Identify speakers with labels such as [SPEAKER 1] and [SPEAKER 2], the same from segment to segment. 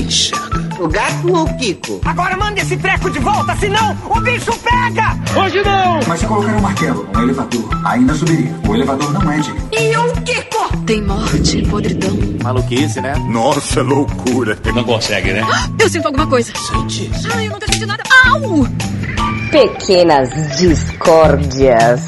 [SPEAKER 1] enxerga.
[SPEAKER 2] O gato ou o Kiko?
[SPEAKER 3] Agora manda esse treco de volta, senão o bicho pega!
[SPEAKER 4] Hoje não!
[SPEAKER 5] Mas se colocar um martelo, um elevador, ainda subiria. O elevador não é digno.
[SPEAKER 3] E o Kiko?
[SPEAKER 1] Tem morte, podridão.
[SPEAKER 6] Maluquice, né?
[SPEAKER 7] Nossa, loucura.
[SPEAKER 6] Não consegue, né?
[SPEAKER 1] Eu sinto alguma coisa.
[SPEAKER 7] Sente.
[SPEAKER 1] Ai, eu nunca senti nada. Au!
[SPEAKER 8] Pequenas discórdias.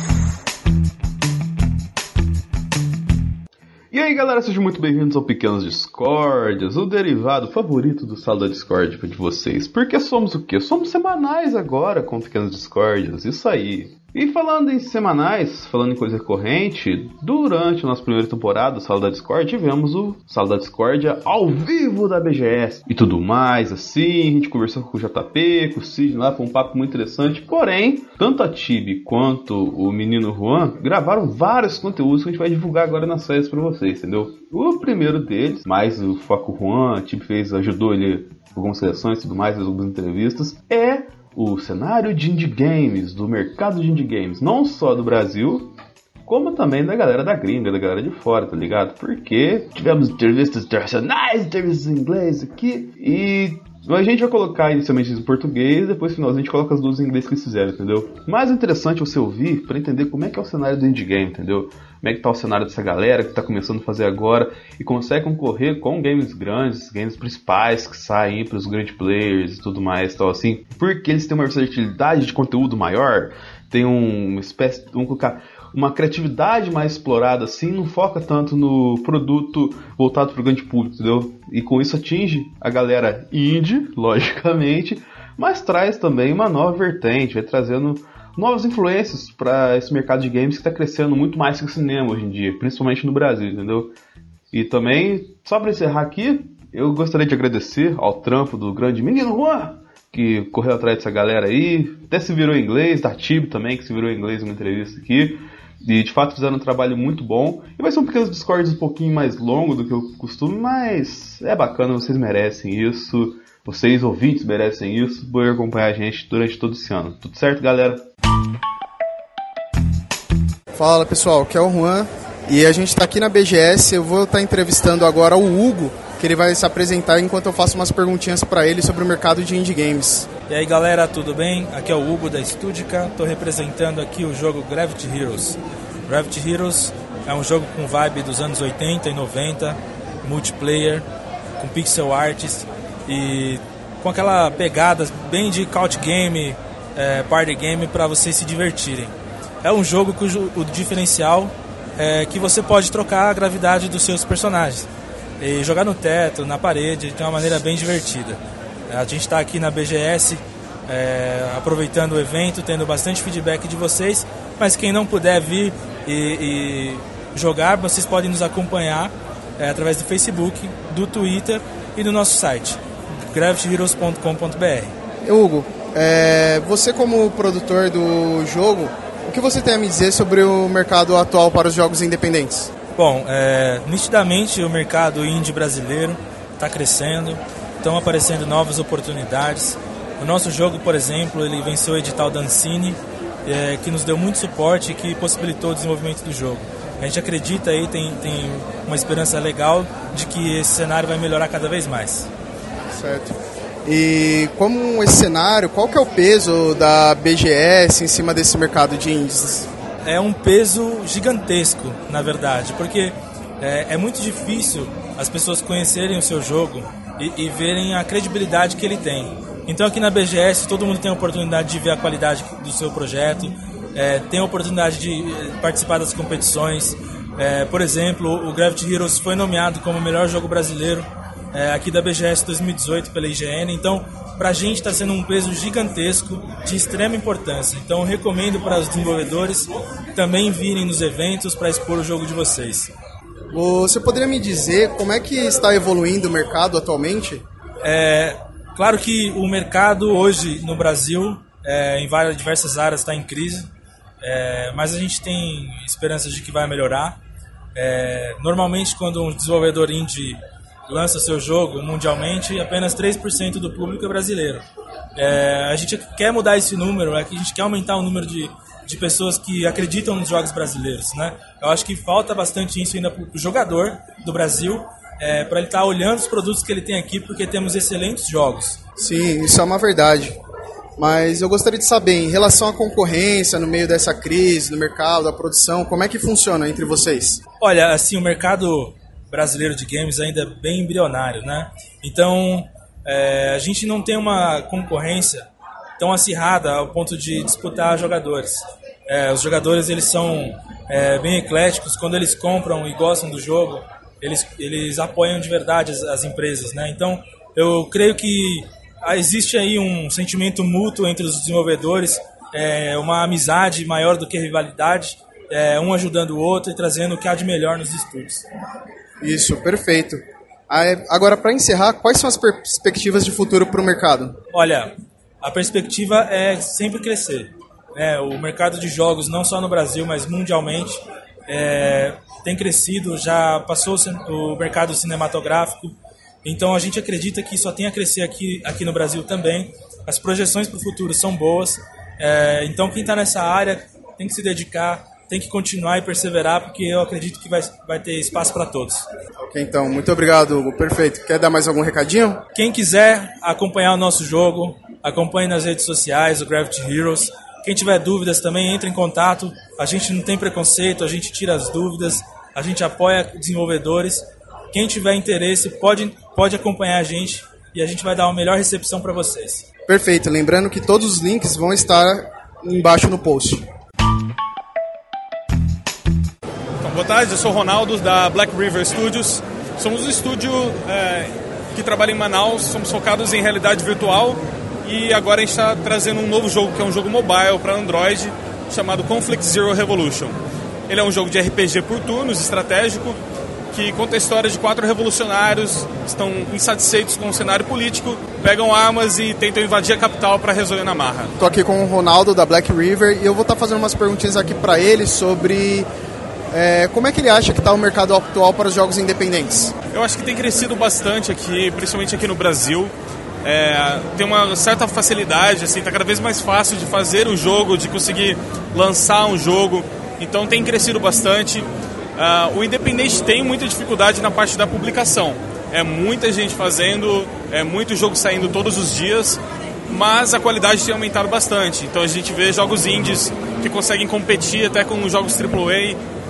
[SPEAKER 9] E aí galera, sejam muito bem-vindos ao Pequenas Discórdias, o derivado favorito do Sala da Discord de vocês. Porque somos o quê? Somos semanais agora com Pequenas Discórdias, isso aí. E falando em semanais, falando em coisa recorrente, durante a nossa primeira temporada do Sala da Discord, tivemos o Sala da Discordia ao vivo da BGS e tudo mais, assim, a gente conversou com o JP, com o Sidney lá, foi um papo muito interessante, porém, tanto a Tibi quanto o menino Juan gravaram vários conteúdos que a gente vai divulgar agora nas séries pra vocês, entendeu? O primeiro deles, mais o foco Juan, a Tibi ajudou ele com algumas seleções e tudo mais, fez algumas entrevistas, é o cenário de indie games, do mercado de indie games, não só do Brasil, como também da galera da gringa, da galera de fora, tá ligado? Porque tivemos entrevistas internacionais, entrevistas em inglês aqui, e a gente vai colocar inicialmente em português, depois no final a gente coloca as duas em inglês que eles fizeram, entendeu? Mais interessante você ouvir pra entender como é que é o cenário do indie game, entendeu? Como é que tá o cenário dessa galera que tá começando a fazer agora e consegue concorrer com games grandes, games principais que saem pros grandes players e tudo mais, tal assim, porque eles têm uma versatilidade de conteúdo maior, tem uma espécie, vamos colocar, uma criatividade mais explorada assim, não foca tanto no produto voltado para o grande público, entendeu? E com isso atinge a galera indie, logicamente, mas traz também uma nova vertente, vai trazendo novas influências para esse mercado de games que está crescendo muito mais que o cinema hoje em dia, principalmente no Brasil, entendeu? E também, só para encerrar aqui, eu gostaria de agradecer ao trampo do grande menino Juan, que correu atrás dessa galera aí, até se virou em inglês, da Tibi também, que se virou em inglês em uma entrevista aqui. E de fato fizeram um trabalho muito bom. E vai ser um pequeno Discord um pouquinho mais longo do que eu costumo, mas é bacana, vocês merecem isso. Vocês ouvintes merecem isso por acompanhar a gente durante todo esse ano. Tudo certo, galera?
[SPEAKER 10] Fala pessoal, aqui é o Juan e a gente está aqui na BGS. Eu vou estar entrevistando agora o Hugo, que ele vai se apresentar enquanto eu faço umas perguntinhas para ele sobre o mercado de indie games.
[SPEAKER 11] E aí galera, tudo bem? Aqui é o Hugo da Studica, estou representando aqui o jogo Gravity Heroes. Gravity Heroes é um jogo com vibe dos anos 80 e 90, multiplayer, com pixel arts e com aquela pegada bem de couch game, party game para vocês se divertirem. É um jogo cujo o diferencial é que você pode trocar a gravidade dos seus personagens e jogar no teto, na parede, de uma maneira bem divertida. A gente está aqui na BGS aproveitando o evento, tendo bastante feedback de vocês, mas quem não puder vir e jogar, vocês podem nos acompanhar através do Facebook, do Twitter e do nosso site, gravityheroes.com.br.
[SPEAKER 10] Hugo, você como produtor do jogo, o que você tem a me dizer sobre o mercado atual para os jogos independentes?
[SPEAKER 11] Bom, nitidamente o mercado indie brasileiro está crescendo, estão aparecendo novas oportunidades. O nosso jogo, por exemplo, ele venceu o edital da Ancine, que nos deu muito suporte e que possibilitou o desenvolvimento do jogo. A gente acredita aí, tem uma esperança legal de que esse cenário vai melhorar cada vez mais.
[SPEAKER 10] Certo. E como esse cenário, qual que é o peso da BGS em cima desse mercado de indies?
[SPEAKER 11] É um peso gigantesco, na verdade, porque é muito difícil as pessoas conhecerem o seu jogo e verem a credibilidade que ele tem. Então aqui na BGS todo mundo tem a oportunidade de ver a qualidade do seu projeto, tem a oportunidade de participar das competições. Por exemplo, o Gravity Heroes foi nomeado como o melhor jogo brasileiro aqui da BGS 2018 pela IGN, então pra gente está sendo um peso gigantesco de extrema importância. Então eu recomendo para os desenvolvedores também virem nos eventos para expor o jogo de vocês.
[SPEAKER 10] Você poderia me dizer como é que está evoluindo o mercado atualmente?
[SPEAKER 11] Claro que o mercado hoje no Brasil, em diversas áreas, está em crise, mas a gente tem esperanças de que vai melhorar. Normalmente quando um desenvolvedor indie lança seu jogo mundialmente, apenas 3% do público é brasileiro. A gente quer mudar esse número, a gente quer aumentar o número de pessoas que acreditam nos jogos brasileiros, né? Eu acho que falta bastante isso ainda para o jogador do Brasil para ele estar olhando os produtos que ele tem aqui, porque temos excelentes jogos.
[SPEAKER 10] Sim, isso é uma verdade. Mas eu gostaria de saber, em relação à concorrência no meio dessa crise, no mercado, da produção, como é que funciona entre vocês?
[SPEAKER 11] Olha, assim, o mercado brasileiro de games ainda é bem embrionário, né? Então, a gente não tem uma concorrência tão acirrada ao ponto de disputar jogadores. Os jogadores, eles são bem ecléticos. Quando eles compram e gostam do jogo, eles apoiam de verdade as empresas, né? Então, eu creio que existe aí um sentimento mútuo entre os desenvolvedores, uma amizade maior do que rivalidade, um ajudando o outro e trazendo o que há de melhor nos estúdios.
[SPEAKER 10] Isso, perfeito. Agora, para encerrar, quais são as perspectivas de futuro para o mercado?
[SPEAKER 11] Olha, a perspectiva é sempre crescer. O mercado de jogos, não só no Brasil, mas mundialmente, tem crescido, já passou o mercado cinematográfico. Então a gente acredita que só tem a crescer aqui no Brasil também. As projeções para o futuro são boas. Então quem está nessa área tem que se dedicar, tem que continuar e perseverar, porque eu acredito que vai ter espaço para todos.
[SPEAKER 10] Ok, então, muito obrigado, Hugo. Perfeito. Quer dar mais algum recadinho?
[SPEAKER 11] Quem quiser acompanhar o nosso jogo, acompanhe nas redes sociais, o Gravity Heroes. Quem tiver dúvidas também, entre em contato. A gente não tem preconceito, a gente tira as dúvidas, a gente apoia desenvolvedores. Quem tiver interesse pode acompanhar a gente e a gente vai dar uma melhor recepção para vocês.
[SPEAKER 10] Perfeito. Lembrando que todos os links vão estar embaixo no post.
[SPEAKER 2] Então, boa tarde, eu sou o Ronaldo da Black River Studios. Somos um estúdio que trabalha em Manaus, somos focados em realidade virtual e agora a gente está trazendo um novo jogo, que é um jogo mobile para Android, chamado Conflict Zero Revolution. Ele é um jogo de RPG por turnos, estratégico, que conta a história de 4 revolucionários que estão insatisfeitos com o cenário político, pegam armas e tentam invadir a capital para resolver na marra.
[SPEAKER 10] Estou aqui com o Ronaldo da Black River e eu vou estar fazendo umas perguntinhas aqui para ele sobre como é que ele acha que está o mercado atual para os jogos independentes.
[SPEAKER 2] Eu acho que tem crescido bastante aqui, principalmente aqui no Brasil. Tem uma certa facilidade, assim, tá cada vez mais fácil de fazer um jogo, de conseguir lançar um jogo, então tem crescido bastante. O independente tem muita dificuldade na parte da publicação. É muita gente fazendo, é muito jogo saindo todos os dias, mas a qualidade tem aumentado bastante. Então a gente vê jogos indies que conseguem competir até com jogos AAA,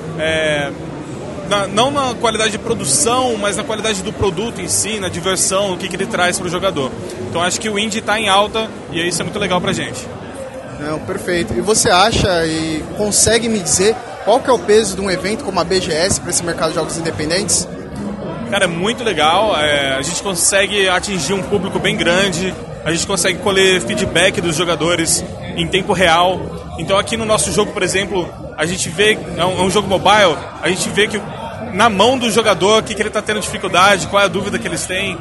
[SPEAKER 2] não na qualidade de produção, mas na qualidade do produto em si, na diversão, o que ele traz para o jogador. Então acho que o indie está em alta e isso é muito legal para a gente.
[SPEAKER 10] Não, perfeito. E você acha e consegue me dizer qual que é o peso de um evento como a BGS para esse mercado de jogos independentes?
[SPEAKER 2] Cara, é muito legal. A gente consegue atingir um público bem grande, a gente consegue colher feedback dos jogadores em tempo real. Então aqui no nosso jogo, por exemplo, a gente vê, é um jogo mobile, a gente vê que na mão do jogador o que ele está tendo dificuldade, qual é a dúvida que eles têm.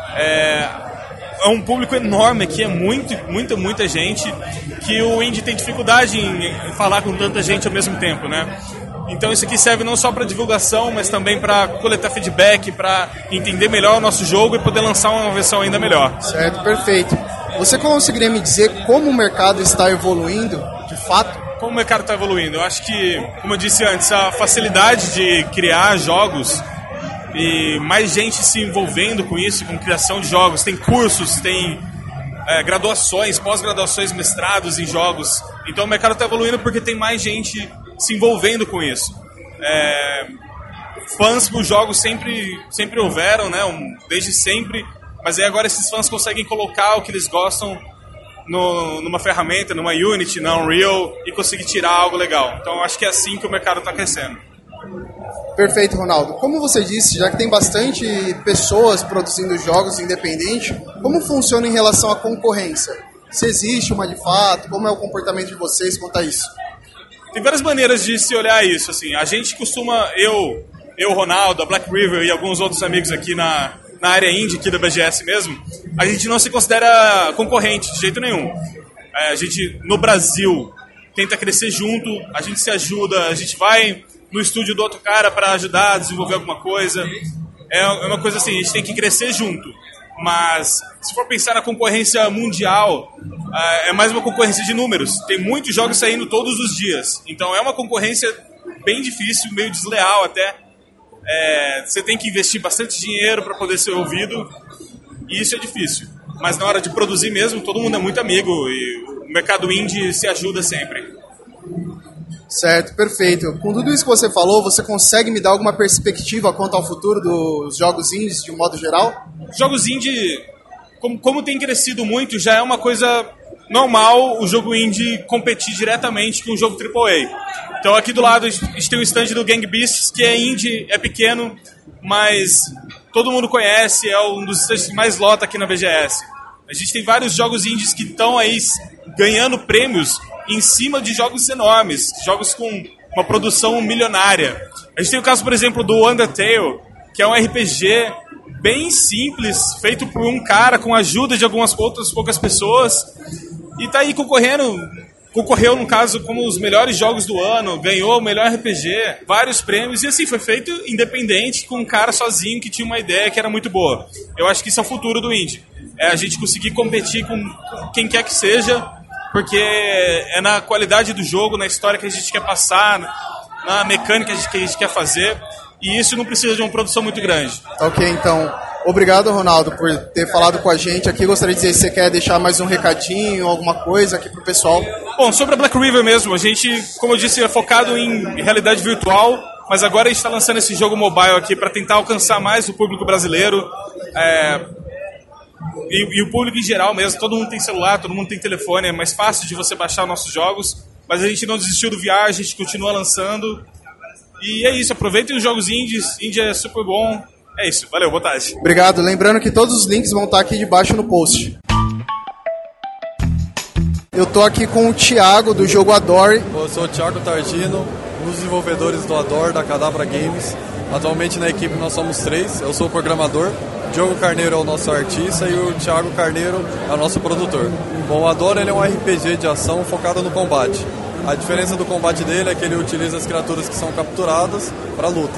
[SPEAKER 2] É um público enorme aqui, é muita gente, que o indie tem dificuldade em falar com tanta gente ao mesmo tempo, né? Então isso aqui serve não só para divulgação, mas também para coletar feedback, para entender melhor o nosso jogo e poder lançar uma versão ainda melhor.
[SPEAKER 10] Certo, perfeito. Você conseguiria me dizer como o mercado está evoluindo, de fato?
[SPEAKER 2] Como o mercado está evoluindo? Eu acho que, como eu disse antes, a facilidade de criar jogos e mais gente se envolvendo com isso, com criação de jogos. Tem cursos, tem graduações, pós-graduações, mestrados em jogos. Então o mercado está evoluindo porque tem mais gente se envolvendo com isso. Fãs por jogos sempre houveram, né? Desde sempre, mas aí agora esses fãs conseguem colocar o que eles gostam numa ferramenta, numa Unity, na Unreal, e conseguir tirar algo legal. Então eu acho que é assim que o mercado está crescendo.
[SPEAKER 10] Perfeito, Ronaldo. Como você disse, já que tem bastante pessoas produzindo jogos independentes, como funciona em relação à concorrência? Se existe uma de fato, como é o comportamento de vocês quanto a isso?
[SPEAKER 2] Tem várias maneiras de se olhar isso. Assim. A gente costuma, eu, Ronaldo, a Black River e alguns outros amigos aqui na área indie aqui da BGS mesmo, a gente não se considera concorrente de jeito nenhum. A gente, no Brasil, tenta crescer junto, a gente se ajuda, a gente vai no estúdio do outro cara para ajudar a desenvolver alguma coisa. É uma coisa assim, a gente tem que crescer junto. Mas se for pensar na concorrência mundial, é mais uma concorrência de números. Tem muitos jogos saindo todos os dias. Então é uma concorrência bem difícil, meio desleal até. você tem que investir bastante dinheiro para poder ser ouvido, e isso é difícil. Mas na hora de produzir mesmo, todo mundo é muito amigo e o mercado indie se ajuda sempre.
[SPEAKER 10] Certo, perfeito. Com tudo isso que você falou, você consegue me dar alguma perspectiva quanto ao futuro dos jogos indies de um modo geral?
[SPEAKER 2] Jogos indie, como tem crescido muito, já é uma coisa normal o jogo indie competir diretamente com o jogo AAA. Então aqui do lado a gente tem o stand do Gang Beasts, que é indie, é pequeno, mas todo mundo conhece, é um dos stands que mais lota aqui na BGS. A gente tem vários jogos indies que estão aí ganhando prêmios em cima de jogos enormes, jogos com uma produção milionária. A gente tem o caso, por exemplo, do Undertale, que é um RPG bem simples, feito por um cara com a ajuda de algumas outras poucas pessoas, e tá aí concorreu, no caso, como os melhores jogos do ano, ganhou o melhor RPG, vários prêmios, e assim, foi feito independente, com um cara sozinho que tinha uma ideia que era muito boa. Eu acho que isso é o futuro do indie. É a gente conseguir competir com quem quer que seja, porque é na qualidade do jogo, na história que a gente quer passar, na mecânica que a gente quer fazer, e isso não precisa de uma produção muito grande.
[SPEAKER 10] Ok, então, obrigado, Ronaldo, por ter falado com a gente aqui. Gostaria de dizer se você quer deixar mais um recadinho, alguma coisa aqui pro pessoal.
[SPEAKER 2] Bom, sobre a Black River mesmo, a gente, como eu disse, é focado em realidade virtual, mas agora a gente está lançando esse jogo mobile aqui para tentar alcançar mais o público brasileiro, e o público em geral mesmo. Todo mundo tem celular, todo mundo tem telefone, é mais fácil de você baixar nossos jogos, mas a gente não desistiu do VR, a gente continua lançando. E é isso, aproveitem os jogos indies, indie é super bom. É isso, valeu, boa tarde.
[SPEAKER 10] Obrigado, lembrando que todos os links vão estar aqui debaixo no post. Eu tô aqui com o Thiago, do jogo Adore.
[SPEAKER 4] Eu sou o Thiago Targino, um dos desenvolvedores do Adore, da Cadabra Games. Atualmente na equipe nós somos 3, eu sou o programador, o Diogo Carneiro é o nosso artista e o Thiago Carneiro é o nosso produtor. Bom, o Adore ele é um RPG de ação focado no combate. A diferença do combate dele é que ele utiliza as criaturas que são capturadas para luta.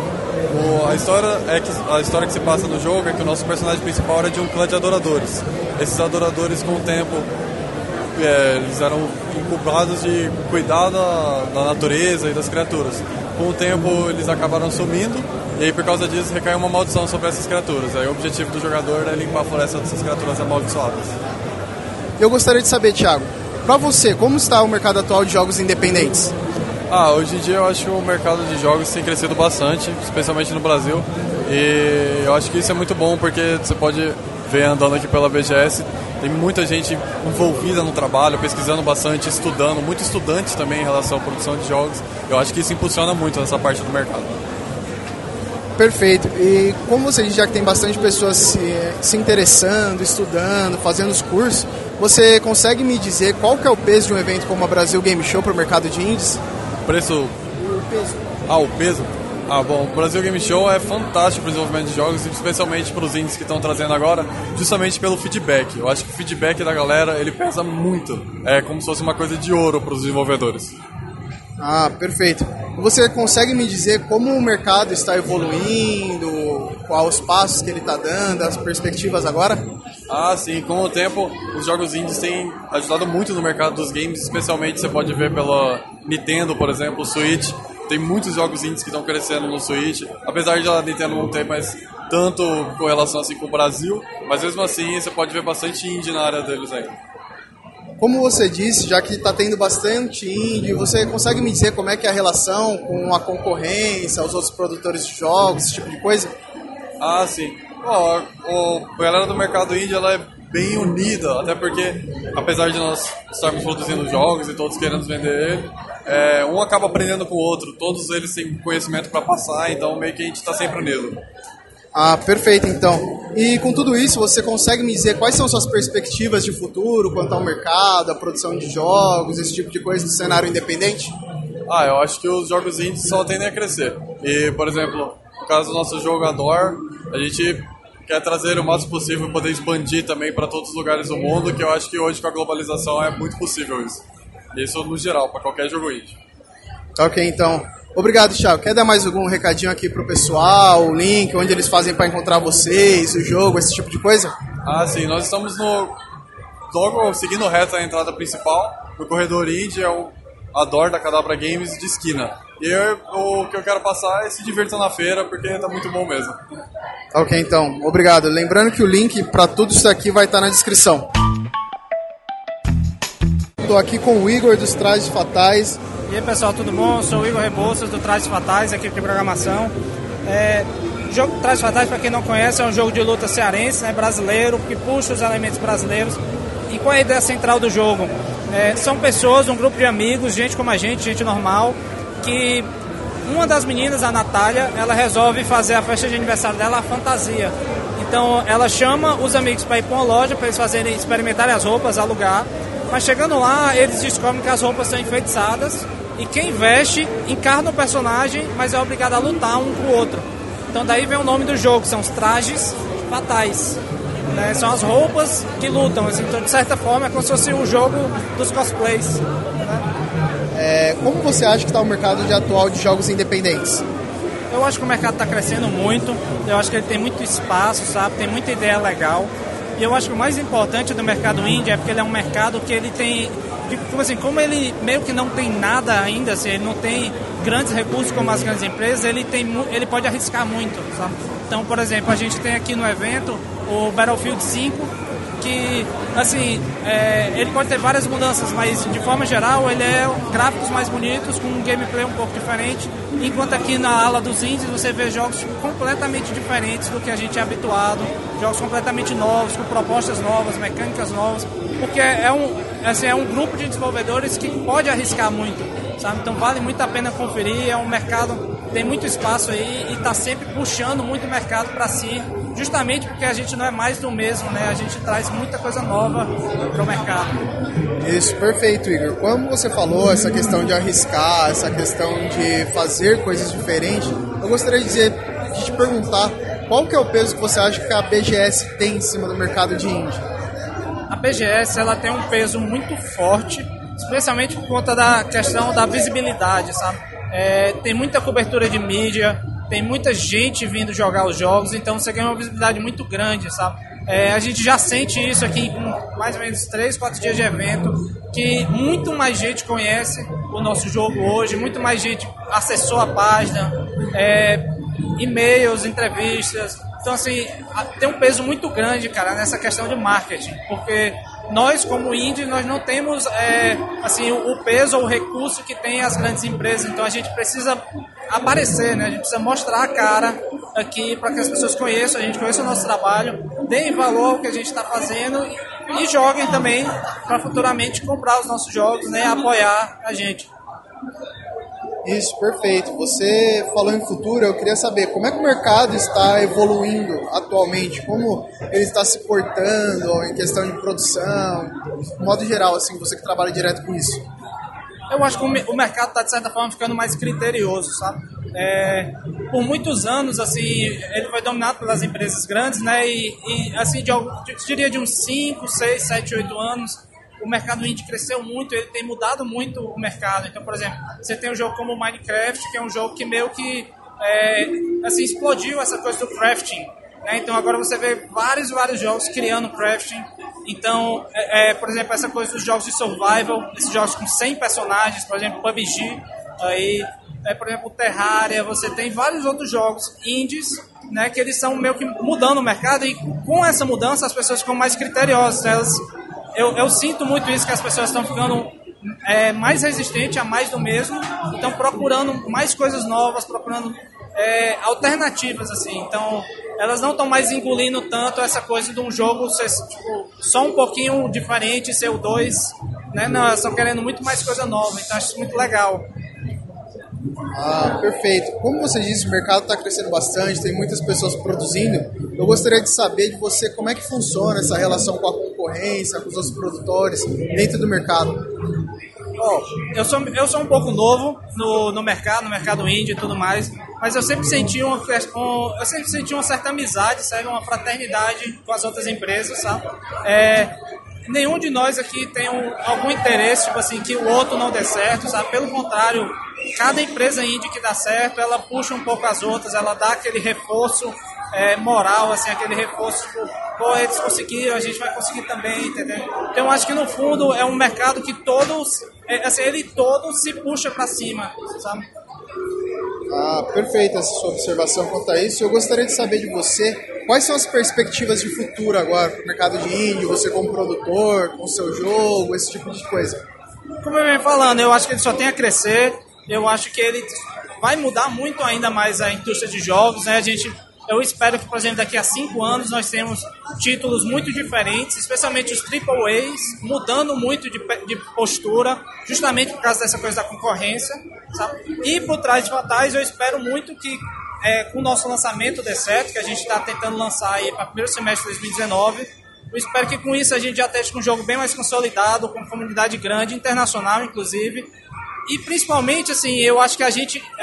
[SPEAKER 4] A história que se passa no jogo é que o nosso personagem principal era de um clã de adoradores. Esses adoradores, com o tempo, eles eram inculpados de cuidar da natureza e das criaturas. Com o tempo, eles acabaram sumindo, e aí por causa disso recaiu uma maldição sobre essas criaturas. Aí o objetivo do jogador é limpar a floresta dessas criaturas amaldiçoadas.
[SPEAKER 10] Eu gostaria de saber, Thiago, para você, como está o mercado atual de jogos independentes?
[SPEAKER 4] Hoje em dia eu acho que o mercado de jogos tem crescido bastante, especialmente no Brasil. E eu acho que isso é muito bom, porque você pode ver andando aqui pela BGS, tem muita gente envolvida no trabalho, pesquisando bastante, estudando, muito estudante também em relação à produção de jogos. Eu acho que isso impulsiona muito essa parte do mercado.
[SPEAKER 10] Perfeito. E como você diz, já que tem bastante pessoas se interessando, estudando, fazendo os cursos, você consegue me dizer qual que é o peso de um evento como a Brasil Game Show para o mercado de indies?
[SPEAKER 4] O peso? O peso? Bom, o Brasil Game Show é fantástico para o desenvolvimento de jogos, especialmente para os indies que estão trazendo agora, justamente pelo feedback. Eu acho que o feedback da galera, ele pesa muito. É como se fosse uma coisa de ouro para os desenvolvedores.
[SPEAKER 10] Perfeito. Você consegue me dizer como o mercado está evoluindo, quais os passos que ele está dando, as perspectivas agora?
[SPEAKER 4] Sim. Com o tempo, os jogos indies têm ajudado muito no mercado dos games, especialmente você pode ver pela Nintendo, por exemplo, o Switch. Tem muitos jogos indies que estão crescendo no Switch, apesar de a Nintendo não ter mais tanto correlação assim com o Brasil, mas mesmo assim você pode ver bastante indie na área deles aí.
[SPEAKER 10] Como você disse, já que está tendo bastante indie, você consegue me dizer como é que é a relação com a concorrência, os outros produtores de jogos, esse tipo de coisa?
[SPEAKER 4] Sim. A galera do mercado indie ela é bem unida, até porque, apesar de nós estarmos produzindo jogos e todos querendo vender ele, um acaba aprendendo com o outro, todos eles têm conhecimento para passar, então meio que a gente está sempre unido.
[SPEAKER 10] Perfeito, então. E com tudo isso, você consegue me dizer quais são suas perspectivas de futuro quanto ao mercado, a produção de jogos, esse tipo de coisa no cenário independente?
[SPEAKER 4] Eu acho que os jogos indies só tendem a crescer. E, por exemplo, no caso do nosso jogo Adore, a gente quer trazer o máximo possível e poder expandir também para todos os lugares do mundo, que eu acho que hoje com a globalização é muito possível isso. Isso no geral, para qualquer jogo indie.
[SPEAKER 10] Ok, então. Obrigado, Thiago. Quer dar mais algum recadinho aqui pro pessoal, o link, onde eles fazem para encontrar vocês, o jogo, esse tipo de coisa?
[SPEAKER 4] Sim. Nós estamos logo seguindo reto a entrada principal. No corredor indie é o Adore da Cadabra Games de esquina. E o que eu quero passar é se divertir na feira, porque tá muito bom mesmo.
[SPEAKER 10] Ok, então, obrigado. Lembrando que o link para tudo isso aqui vai estar na descrição. Estou aqui com o Igor dos Trajes Fatais.
[SPEAKER 6] E aí pessoal, tudo bom? Eu sou o Igor Rebouças do Trajes Fatais, equipe de programação. O jogo Trajes Fatais, para quem não conhece, é um jogo de luta cearense, né, brasileiro, que puxa os elementos brasileiros. E qual é a ideia central do jogo? São pessoas, um grupo de amigos, gente como a gente normal, que uma das meninas, a Natália, ela resolve fazer a festa de aniversário dela, a fantasia. Então ela chama os amigos para ir para uma loja, para eles experimentarem as roupas, alugar. Mas chegando lá, eles descobrem que as roupas são enfeitiçadas e quem veste encarna o personagem, mas é obrigado a lutar um com o outro. Então daí vem o nome do jogo, são os Trajes Fatais. Né? São as roupas que lutam, assim, então de certa forma é como se fosse o jogo dos cosplays. Né?
[SPEAKER 10] Como você acha que está o mercado atual de jogos independentes?
[SPEAKER 6] Eu acho que o mercado está crescendo muito, eu acho que ele tem muito espaço, sabe? Tem muita ideia legal. E eu acho que o mais importante do mercado indie é porque ele é um mercado que ele tem, tipo assim, como ele meio que não tem nada ainda, assim, ele não tem grandes recursos como as grandes empresas, ele pode arriscar muito, sabe? Então, por exemplo, a gente tem aqui no evento o Battlefield 5, que, assim, ele pode ter várias mudanças, mas de forma geral ele é gráficos mais bonitos, com um gameplay um pouco diferente, enquanto aqui na ala dos indies você vê jogos completamente diferentes do que a gente é habituado, jogos completamente novos, com propostas novas, mecânicas novas, porque é um grupo de desenvolvedores que pode arriscar muito, sabe? Então vale muito a pena conferir, é um mercado, tem muito espaço aí e está sempre puxando muito o mercado para si, justamente porque a gente não é mais do mesmo, né? A gente traz muita coisa nova para o mercado.
[SPEAKER 10] Isso, perfeito, Igor. Como você falou, essa questão de arriscar, essa questão de fazer coisas diferentes, eu gostaria de te perguntar qual que é o peso que você acha que a BGS tem em cima do mercado de indie?
[SPEAKER 6] A BGS ela tem um peso muito forte, especialmente por conta da questão da visibilidade, sabe? Tem muita cobertura de mídia, tem muita gente vindo jogar os jogos, então você ganha uma visibilidade muito grande, sabe? A gente já sente isso aqui com mais ou menos 3, 4 dias de evento, que muito mais gente conhece o nosso jogo hoje, muito mais gente acessou a página, e-mails, entrevistas. Então, assim, tem um peso muito grande, cara, nessa questão de marketing, porque nós, como indie, nós não temos assim, o peso ou o recurso que tem as grandes empresas, então a gente precisa aparecer, né? A gente precisa mostrar a cara aqui para que as pessoas conheçam, a gente conheça o nosso trabalho, deem valor ao que a gente está fazendo e joguem também para futuramente comprar os nossos jogos, né? Apoiar a gente.
[SPEAKER 10] Isso, perfeito. Você falou em futuro, eu queria saber como é que o mercado está evoluindo atualmente, como ele está se portando em questão de produção, de modo geral, assim, você que trabalha direto com isso.
[SPEAKER 6] Eu acho que o mercado está, de certa forma, ficando mais criterioso, sabe? Por muitos anos, assim, ele foi dominado pelas empresas grandes, né? E assim, eu diria de uns 5, 6, 7, 8 anos, o mercado indie cresceu muito, ele tem mudado muito o mercado. Então, por exemplo, você tem um jogo como Minecraft, que é um jogo que meio que assim, explodiu essa coisa do crafting, né? Então agora você vê vários jogos criando crafting. Então, por exemplo, essa coisa dos jogos de survival, esses jogos com 100 personagens, por exemplo, PUBG, aí, por exemplo, Terraria, você tem vários outros jogos indies, né, que eles são meio que mudando o mercado, e com essa mudança as pessoas ficam mais criteriosas. Eu sinto muito isso, que as pessoas estão ficando mais resistentes a mais do mesmo, estão procurando mais coisas novas, procurando alternativas, assim. Então, elas não estão mais engolindo tanto essa coisa de um jogo ser tipo, só um pouquinho diferente, ser o 2, né? Não, elas estão querendo muito mais coisa nova, então acho isso muito legal.
[SPEAKER 10] Ah, perfeito. Como você disse, o mercado está crescendo bastante, tem muitas pessoas produzindo. Eu gostaria de saber de você como é que funciona essa relação com a concorrência, com os outros produtores dentro do mercado.
[SPEAKER 6] Eu sou um pouco novo no mercado indie e tudo mais, mas eu sempre senti uma certa amizade, sabe? Uma fraternidade com as outras empresas, sabe? Nenhum de nós aqui tem algum interesse, tipo assim, que o outro não dê certo, sabe? Pelo contrário, cada empresa indie que dá certo, ela puxa um pouco as outras, ela dá aquele reforço moral, assim, aquele reforço, tipo, pô, eles conseguiram, a gente vai conseguir também, entendeu? Então, eu acho que no fundo é um mercado que todos, assim, ele todo se puxa pra cima, sabe?
[SPEAKER 10] Perfeita essa sua observação quanto a isso. Eu gostaria de saber de você, quais são as perspectivas de futuro agora para o mercado de indie, você como produtor, com o seu jogo, esse tipo de coisa?
[SPEAKER 6] Como eu venho falando, eu acho que ele só tem a crescer, eu acho que ele vai mudar muito ainda mais a indústria de jogos, né? Eu espero que, por exemplo, daqui a 5 anos nós temos títulos muito diferentes, especialmente os AAAs, mudando muito de postura, justamente por causa dessa coisa da concorrência, sabe? E por trás de Fatais, eu espero muito que, com o nosso lançamento D7, que a gente está tentando lançar aí para o primeiro semestre de 2019, eu espero que com isso a gente já esteja com um jogo bem mais consolidado, com comunidade grande, internacional inclusive, e principalmente, assim, eu acho que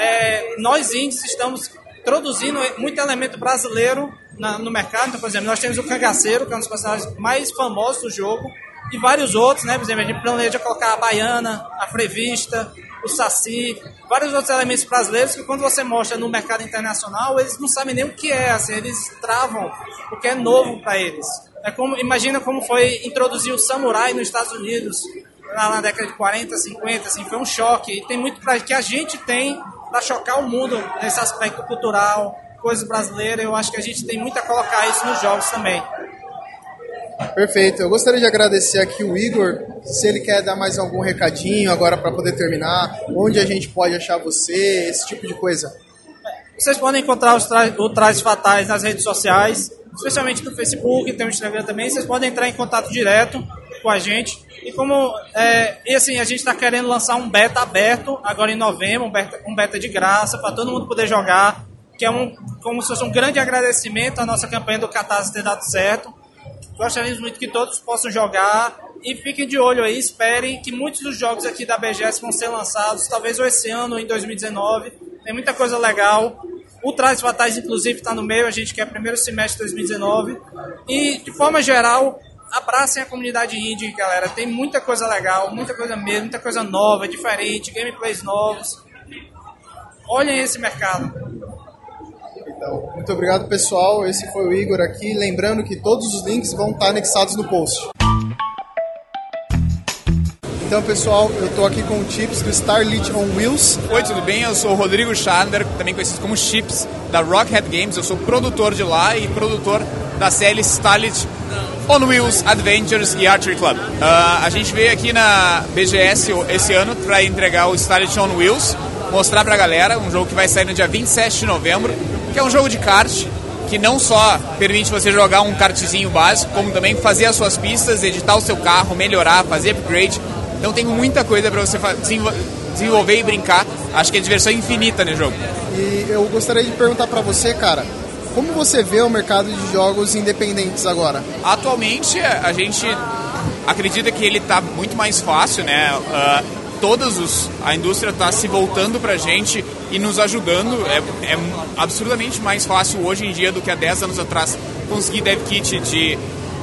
[SPEAKER 6] nós indies estamos introduzindo muito elemento brasileiro no mercado. Então, por exemplo, nós temos o Cangaceiro, que é um dos personagens mais famosos do jogo, e vários outros, né? Por exemplo, a gente planeja colocar a Baiana, a Frevista, o Saci, vários outros elementos brasileiros que quando você mostra no mercado internacional, eles não sabem nem o que é, assim, eles travam, porque é novo para eles. Imagina como foi introduzir o Samurai nos Estados Unidos, na década de 40, 50, assim, foi um choque. E tem muito que a gente tem para chocar o mundo nesse aspecto cultural, coisas brasileiras. Eu acho que a gente tem muito a colocar isso nos jogos também.
[SPEAKER 10] Perfeito. Eu gostaria de agradecer aqui o Igor, se ele quer dar mais algum recadinho agora para poder terminar, onde a gente pode achar você, esse tipo de coisa.
[SPEAKER 6] Vocês podem encontrar o Trajes Fatais nas redes sociais, especialmente no Facebook, tem o Instagram também. Vocês podem entrar em contato direto com a gente. E assim, a gente está querendo lançar um beta aberto agora em novembro, um beta de graça para todo mundo poder jogar, que é como se fosse um grande agradecimento à nossa campanha do Catarse ter dado certo. Gostaríamos muito que todos possam jogar e fiquem de olho aí, esperem que muitos dos jogos aqui da BGS vão ser lançados, talvez esse ano ou em 2019. Tem muita coisa legal. O Trajes Fatais, inclusive, está no meio, a gente quer primeiro semestre de 2019. E, de forma geral, abracem a comunidade indie, galera. Tem muita coisa legal, muita coisa mesmo, muita coisa nova, diferente, gameplays novos. Olhem esse mercado.
[SPEAKER 10] Então, muito obrigado, pessoal. Esse foi o Igor aqui. Lembrando que todos os links vão estar anexados no post. Então, pessoal, eu estou aqui com o Chips do Starlit on Wheels.
[SPEAKER 7] Oi, tudo bem? Eu sou o Rodrigo Schandler, também conhecido como Chips, da Rockhead Games. Eu sou produtor de lá e produtor da série Starlit on Wheels Adventures e Archery Club. A gente veio aqui na BGS esse ano para entregar o Starlit on Wheels, mostrar pra galera um jogo que vai sair no dia 27 de novembro, que é um jogo de kart, que não só permite você jogar um kartzinho básico, como também fazer as suas pistas, editar o seu carro, melhorar, fazer upgrade. Então tem muita coisa para você desenvolver e brincar. Acho que é diversão infinita no jogo.
[SPEAKER 10] E eu gostaria de perguntar para você, cara, como você vê o mercado de jogos independentes agora?
[SPEAKER 7] Atualmente a gente acredita que ele está muito mais fácil, né? A indústria está se voltando para a gente e nos ajudando. É absurdamente mais fácil hoje em dia do que há 10 anos atrás conseguir dev kit de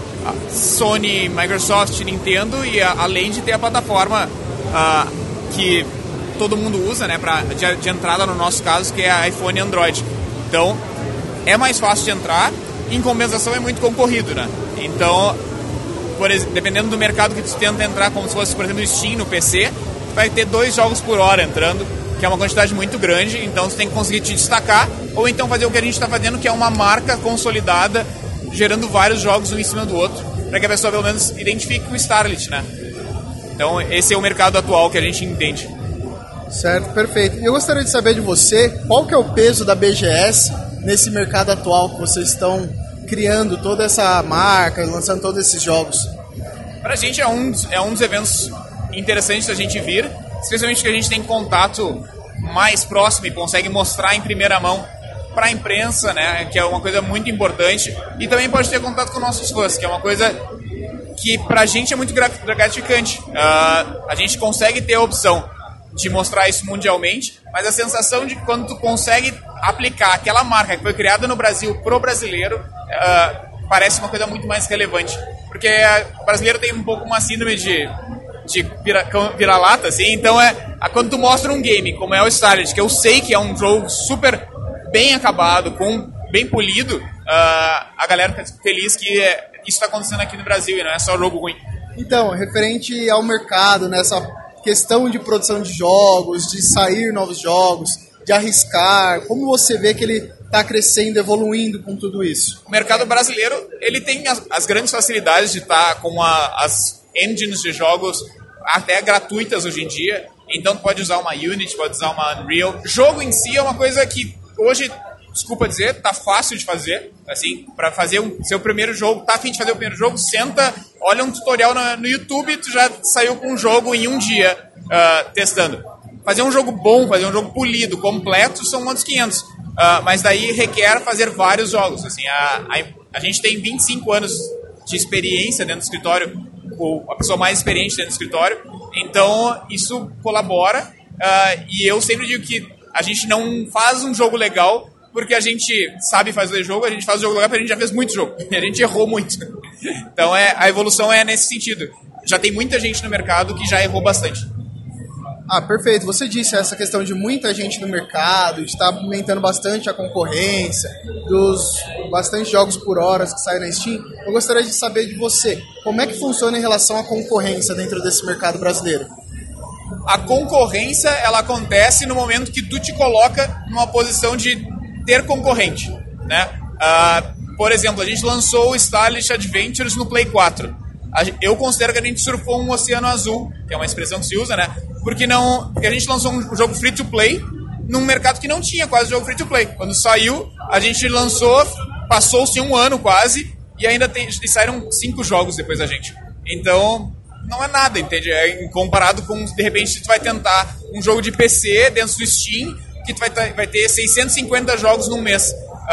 [SPEAKER 7] Sony, Microsoft, Nintendo, e além de ter a plataforma que todo mundo usa, né, de entrada no nosso caso, que é iPhone e Android. Então é mais fácil de entrar, em compensação é muito concorrido, né? Então, dependendo do mercado que tu tenta entrar, como se fosse, por exemplo, o Steam no PC, vai ter 2 jogos por hora entrando, que é uma quantidade muito grande, então você tem que conseguir te destacar, ou então fazer o que a gente está fazendo, que é uma marca consolidada, gerando vários jogos um em cima do outro, para que a pessoa pelo menos identifique o Starlit, né? Então esse é o mercado atual que a gente entende.
[SPEAKER 10] Certo, perfeito. Eu gostaria de saber de você, qual que é o peso da BGS nesse mercado atual que vocês estão criando toda essa marca, lançando todos esses jogos?
[SPEAKER 7] Pra gente é um dos eventos interessantes da gente vir, especialmente que a gente tem contato mais próximo e consegue mostrar em primeira mão para a imprensa, né, que é uma coisa muito importante, e também pode ter contato com nossos fãs, que é uma coisa que pra gente é muito gratificante. A gente consegue ter a opção de mostrar isso mundialmente, mas a sensação de que quando tu consegue aplicar aquela marca que foi criada no Brasil pro brasileiro, parece uma coisa muito mais relevante, porque o brasileiro tem um pouco uma síndrome de vira-lata, assim. Então quando tu mostra um game como é o Starlit, que eu sei que é um jogo super bem acabado, bem polido, a galera fica feliz que isso está acontecendo aqui no Brasil e não é só jogo ruim.
[SPEAKER 10] Então, referente ao mercado, nessa questão de produção de jogos, de sair novos jogos, de arriscar? Como você vê que ele está crescendo, evoluindo com tudo isso?
[SPEAKER 7] O mercado brasileiro, ele tem as grandes facilidades de estar com as engines de jogos até gratuitas hoje em dia. Então tu pode usar uma Unity, pode usar uma Unreal. Jogo em si é uma coisa que hoje, desculpa dizer, tá fácil de fazer. Assim, para fazer seu primeiro jogo, tá a fim de fazer o primeiro jogo, senta, olha um tutorial no YouTube e tu já saiu com um jogo em um dia testando. Fazer um jogo bom, fazer um jogo polido, completo, são uns 500. Mas daí requer fazer vários jogos. Assim, a gente tem 25 anos de experiência dentro do escritório, ou a pessoa mais experiente dentro do escritório, então isso colabora. E eu sempre digo que a gente não faz um jogo legal porque a gente sabe fazer jogo, a gente faz o jogo legal porque a gente já fez muito jogo, e a gente errou muito. Então a evolução é nesse sentido. Já tem muita gente no mercado que já errou bastante.
[SPEAKER 10] Perfeito. Você disse essa questão de muita gente no mercado, de estar aumentando bastante a concorrência, dos bastante jogos por horas que saem na Steam. Eu gostaria de saber de você, como é que funciona em relação à concorrência dentro desse mercado brasileiro?
[SPEAKER 7] A concorrência, ela acontece no momento que tu te coloca numa posição de ter concorrente, né? Por exemplo, a gente lançou o Starlit Adventures no Play 4. Eu considero que a gente surfou um oceano azul, que é uma expressão que se usa, né? Porque a gente lançou um jogo free-to-play num mercado que não tinha quase jogo free-to-play. Quando saiu, a gente lançou, passou-se um ano quase, e ainda saíram 5 jogos depois da gente. Então, não é nada, entende? Comparado com, de repente, se tu vai tentar um jogo de PC dentro do Steam, que tu vai ter 650 jogos num mês.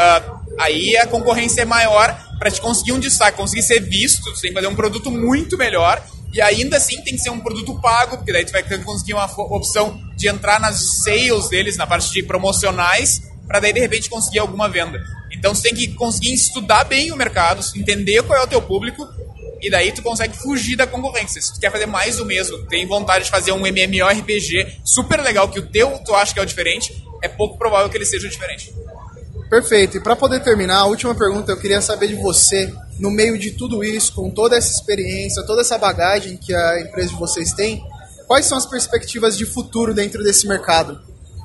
[SPEAKER 7] Aí a concorrência é maior para te conseguir um destaque, conseguir ser visto, tu tem que fazer um produto muito melhor, e ainda assim tem que ser um produto pago, porque daí tu vai conseguir uma opção de entrar nas sales deles, na parte de promocionais, para daí de repente conseguir alguma venda. Então você tem que conseguir estudar bem o mercado, entender qual é o teu público, e daí tu consegue fugir da concorrência. Se tu quer fazer mais do mesmo, tem vontade de fazer um MMORPG super legal, que o teu tu acha que é o diferente, é pouco provável que ele seja o diferente.
[SPEAKER 10] Perfeito. E para poder terminar, a última pergunta, eu queria saber de você, no meio de tudo isso, com toda essa experiência, toda essa bagagem que a empresa de vocês tem, quais são as perspectivas de futuro dentro desse mercado?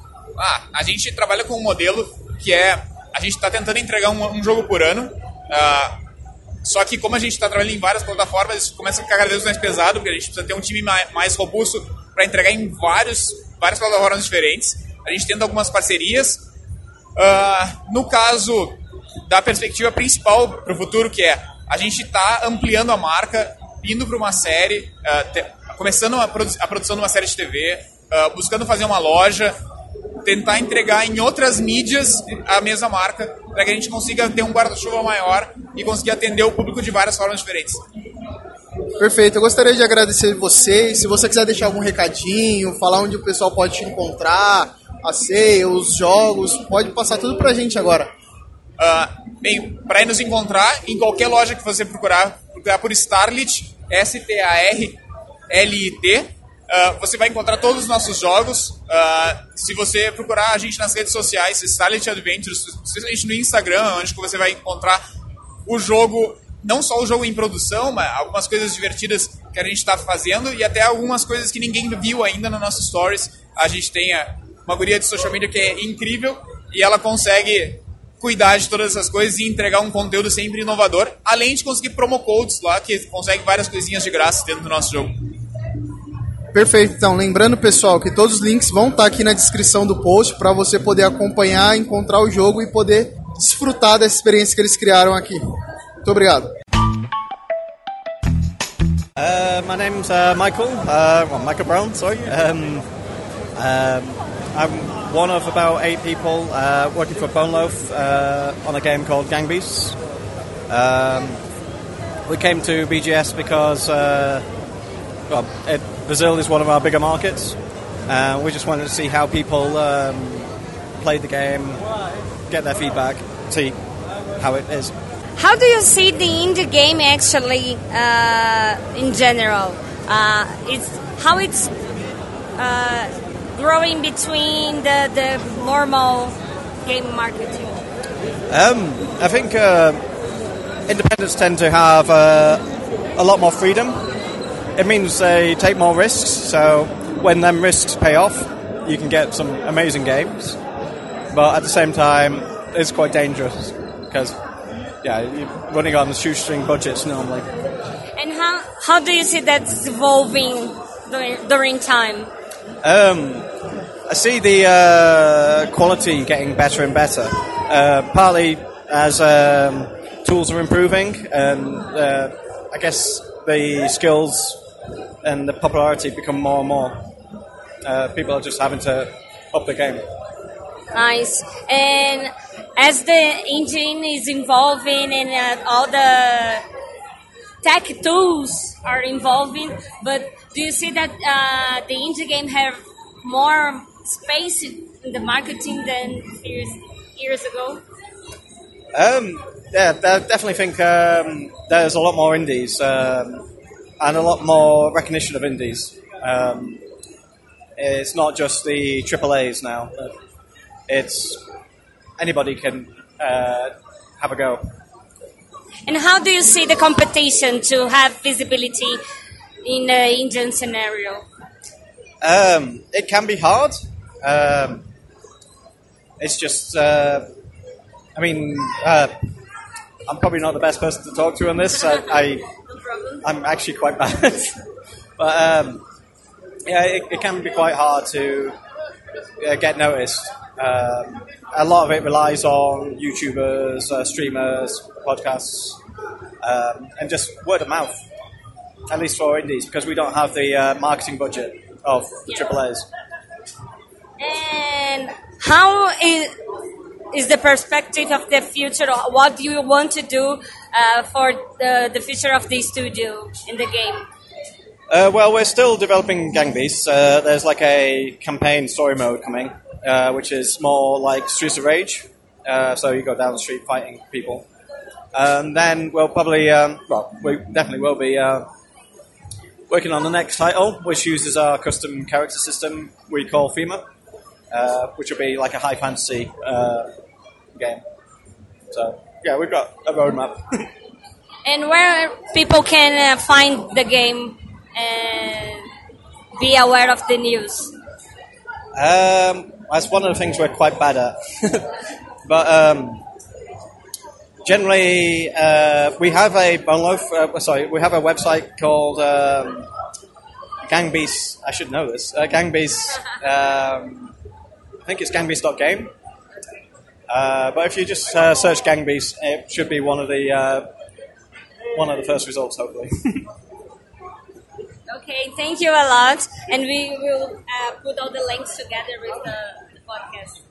[SPEAKER 7] A gente trabalha com um modelo que a gente está tentando entregar um jogo por ano, só que como a gente está trabalhando em várias plataformas, isso começa a ficar cada vez mais pesado, porque a gente precisa ter um time mais robusto para entregar em várias plataformas diferentes. A gente tenta algumas parcerias. No caso da perspectiva principal para o futuro, que é a gente está ampliando a marca, indo para uma série, começando a produção de uma série de TV, buscando fazer uma loja, tentar entregar em outras mídias a mesma marca, para que a gente consiga ter um guarda-chuva maior e conseguir atender o público de várias formas diferentes.
[SPEAKER 10] Perfeito, eu gostaria de agradecer vocês. Se você quiser deixar algum recadinho, falar onde o pessoal pode te encontrar, a ceia, os jogos, pode passar tudo pra gente agora.
[SPEAKER 7] Bem, para nos encontrar em qualquer loja que você procurar por Starlit, Starlit, você vai encontrar todos os nossos jogos. Se você procurar a gente nas redes sociais, Starlit Adventures, especialmente no Instagram, onde você vai encontrar o jogo, não só o jogo em produção, mas algumas coisas divertidas que a gente está fazendo e até algumas coisas que ninguém viu ainda no nosso Stories. A gente tem uma guria de social media que é incrível e ela consegue cuidar de todas essas coisas e entregar um conteúdo sempre inovador, além de conseguir promo codes lá, que consegue várias coisinhas de graça dentro do nosso jogo.
[SPEAKER 10] Perfeito, então lembrando, pessoal, que todos os links vão estar aqui na descrição do post para você poder acompanhar, encontrar o jogo e poder desfrutar dessa experiência que eles criaram aqui. Muito obrigado.
[SPEAKER 12] My name's Michael, Michael Brown, sorry. I'm one of about 8 people working for Bone Loaf on a game called Gang Beasts. We came to BGS because Brazil is one of our bigger markets. We just wanted to see how people played the game, get their feedback, see how it is.
[SPEAKER 13] How do you see the indie game actually in general? How it's growing between the normal game marketing?
[SPEAKER 12] I think independents tend to have a lot more freedom. It means they take more risks, so when them risks pay off, you can get some amazing games. but at the same time, it's quite dangerous because, yeah, you're running on shoestring budgets normally.
[SPEAKER 13] And how do you see that's evolving during time?
[SPEAKER 12] I see the quality getting better and better, partly as tools are improving, and I guess the skills and the popularity become more and more. People are just having to up the game.
[SPEAKER 13] Nice. And as the engine is evolving and all the tech tools are evolving, but do you see that the indie game have more space in the marketing than years ago?
[SPEAKER 12] Yeah, I definitely think there's a lot more indies and a lot more recognition of indies. It's not just the AAAs now. It's anybody can have a go.
[SPEAKER 13] And how do you see the competition to have visibility in the Indian scenario?
[SPEAKER 12] It can be hard. It's just, I'm probably not the best person to talk to on this. I'm actually quite bad. But yeah, it can be quite hard to get noticed. A lot of it relies on YouTubers, streamers, podcasts, and just word of mouth, at least for indies, because we don't have the marketing budget of the AAAs.
[SPEAKER 13] And how is the perspective of the future? What do you want to do for the future of the studio in the game?
[SPEAKER 12] Well, we're still developing Gang Beasts. There's like a campaign story mode coming, which is more like Streets of Rage. So you go down the street fighting people. Then we'll probably, we definitely will be working on the next title, which uses our custom character system we call FEMA, which will be like a high fantasy game. So, yeah, we've got a roadmap.
[SPEAKER 13] And where people can find the game and be aware of the news?
[SPEAKER 12] That's one of the things we're quite bad at. But generally, we have a we have a website called Gang Beasts. I should know this. Gang Beasts. I think it's gangbeasts.game. But if you just search Gang Beasts, it should be one of the first results, hopefully.
[SPEAKER 13] Okay, thank you a lot, and we will put all the links together with the podcast.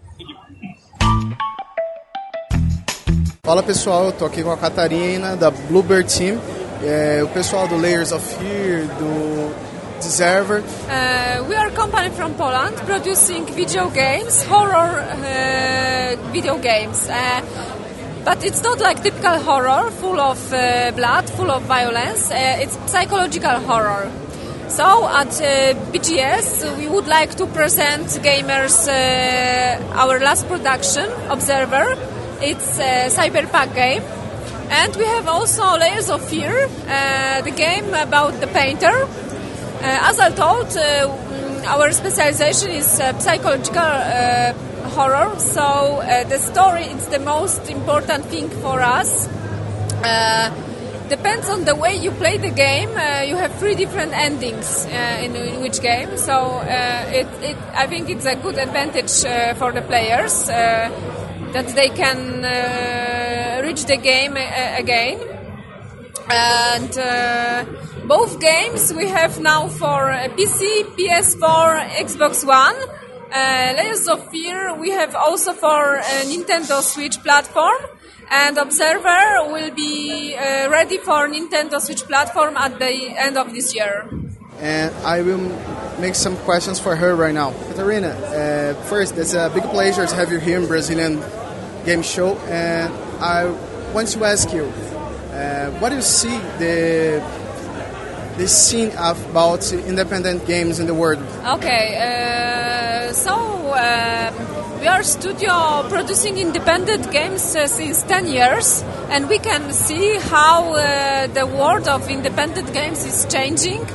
[SPEAKER 10] Fala pessoal, eu tô aqui com a Catarina da Bluebird Team, o pessoal do Layers of Fear, do Deserver.
[SPEAKER 14] We are a company from Poland producing video games, horror video games. But it's not like typical horror, full of blood, full of violence. It's psychological horror. So at BGS, we would like to present gamers our last production, Observer. It's a cyberpunk game. And we have also Layers of Fear, the game about the painter. As I told, our specialization is psychological horror, so the story is the most important thing for us. Depends on the way you play the game. You have 3 different endings in which game, so I think it's a good advantage for the players that they can reach the game again. And both games we have now for PC, PS4, Xbox One. Layers of Fear we have also for Nintendo Switch platform, and Observer will be ready for Nintendo Switch platform at the end of this year.
[SPEAKER 10] And I will make some questions for her right now. Catarina, first, it's a big pleasure to have you here in Brazilian Game Show, and I want to ask you, what do you see the scene about independent games in the world?
[SPEAKER 14] Okay, we are studio producing independent games since 10 years, and we can see how the world of independent games is changing.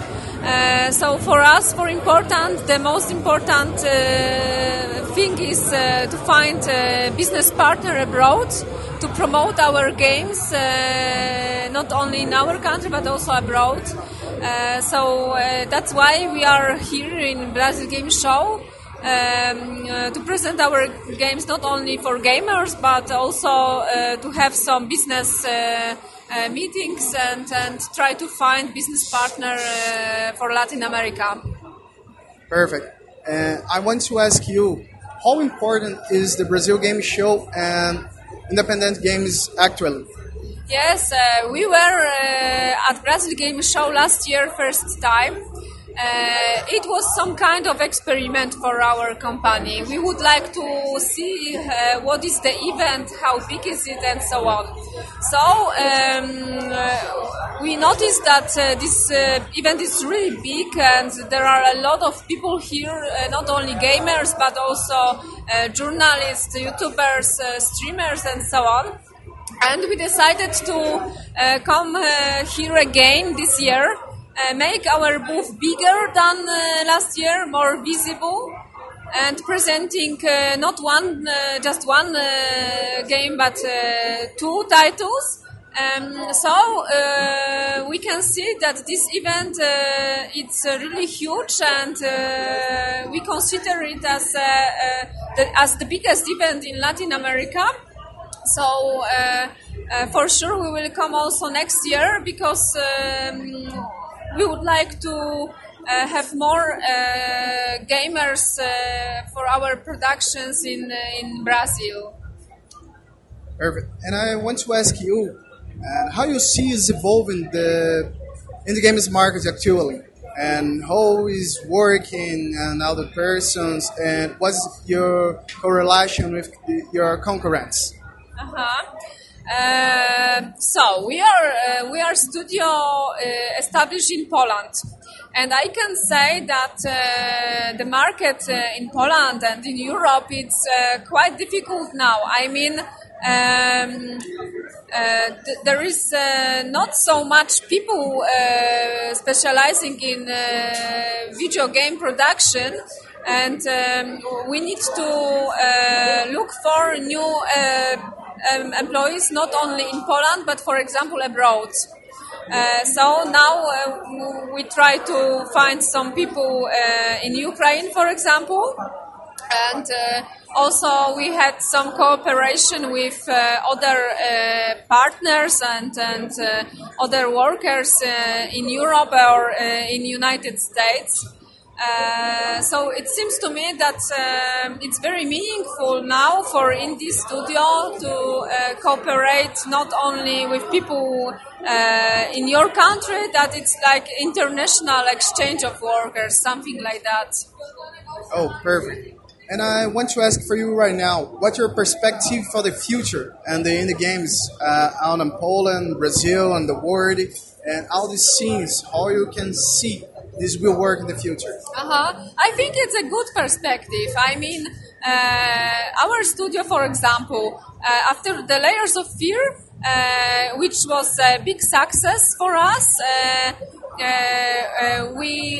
[SPEAKER 14] So for us, the most important thing is to find a business partner abroad to promote our games, not only in our country but also abroad. So that's why we are here in Brazil Game Show to present our games not only for gamers but also to have some business meetings and try to find business partner for Latin America.
[SPEAKER 10] Perfect. I want to ask you, how important is the Brazil Game Show and independent games actually?
[SPEAKER 14] Yes, we were at Brazil Game Show last year, first time. It was some kind of experiment for our company. We would like to see what is the event, how big is it, and so on. So we noticed that this event is really big, and there are a lot of people here, not only gamers, but also journalists, YouTubers, streamers, and so on. And we decided to come here again this year. Make our booth bigger than last year, more visible, and presenting not just one game, but 2 titles. So we can see that this event it's really huge, and we consider it as the biggest event in Latin America. So for sure we will come also next year, because we would like to have more gamers for our productions in Brazil.
[SPEAKER 10] Perfect. And I want to ask you, how you see is evolving in the games market actually, and how is working and other persons, and what's your correlation with your concurrents?
[SPEAKER 14] So we are studio established in Poland, and I can say that the market in Poland and in Europe it's quite difficult now. I mean, there is not so much people specializing in video game production, and we need to look for new employees not only in Poland but, for example, abroad. So now we try to find some people in Ukraine, for example, and also we had some cooperation with other partners and other workers in Europe or in United States. So it seems to me that it's very meaningful now for Indie Studio to cooperate not only with people in your country, that it's like international exchange of workers, something like that.
[SPEAKER 10] Oh, perfect. And I want to ask for you right now, what's your perspective for the future and the indie games out in Poland, Brazil, and the world, and all these scenes, how you can see this will work in the future?
[SPEAKER 14] I think it's a good perspective. I mean, our studio, for example, after the Layers of Fear, which was a big success for us, we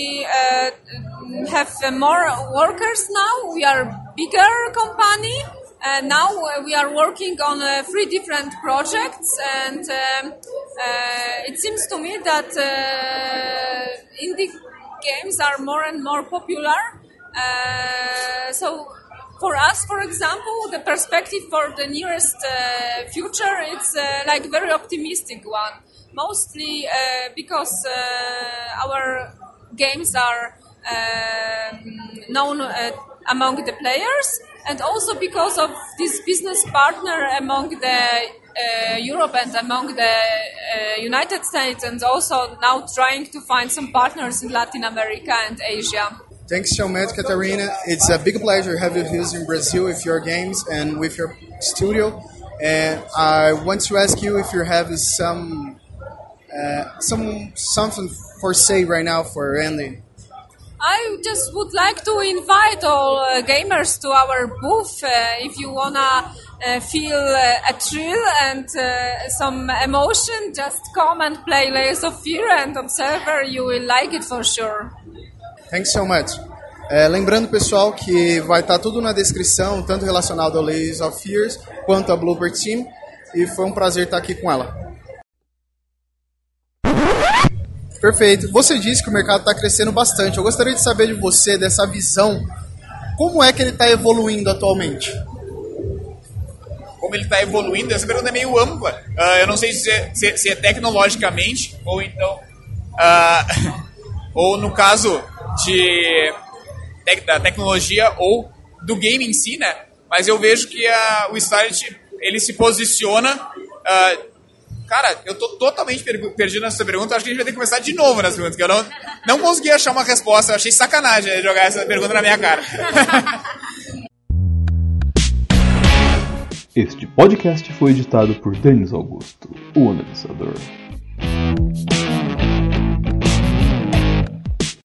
[SPEAKER 14] have more workers now. We are bigger company. Now we are working on 3 different projects, and it seems to me that indie games are more and more popular. So for us, for example, the perspective for the nearest future, it's like very optimistic one. Mostly because our games are known among the players, and also because of this business partner among the Europe and among the United States, and also now trying to find some partners in Latin America and Asia.
[SPEAKER 10] Thanks so much, Catarina. It's a big pleasure to have you here in Brazil with your games and with your studio. And I want to ask you if you have something for say right now for ending.
[SPEAKER 14] I just would like to invite all gamers to our booth. If you wanna feel a thrill and some emotion, just come and play Layers of Fear and Observer. You will like it for sure.
[SPEAKER 10] Thanks so much. Lembrando, pessoal, que vai estar tudo na descrição, tanto relacionado ao Layers of Fears quanto a Bloober Team. E foi um prazer estar aqui com ela. Perfeito. Você disse que o mercado está crescendo bastante. Eu gostaria de saber de você, dessa visão, como é que ele está evoluindo atualmente?
[SPEAKER 7] Como ele está evoluindo, essa pergunta é meio ampla. Eu não sei se é tecnologicamente, ou então... ou no caso da tecnologia ou do game em si, né? Mas eu vejo que o Starlit, ele se posiciona... cara, eu tô totalmente perdido nessa pergunta. Acho que a gente vai ter que começar de novo nessa pergunta, que eu não consegui achar uma resposta. Eu achei sacanagem jogar essa pergunta na minha cara.
[SPEAKER 9] Este podcast foi editado por Denis Augusto, o analisador.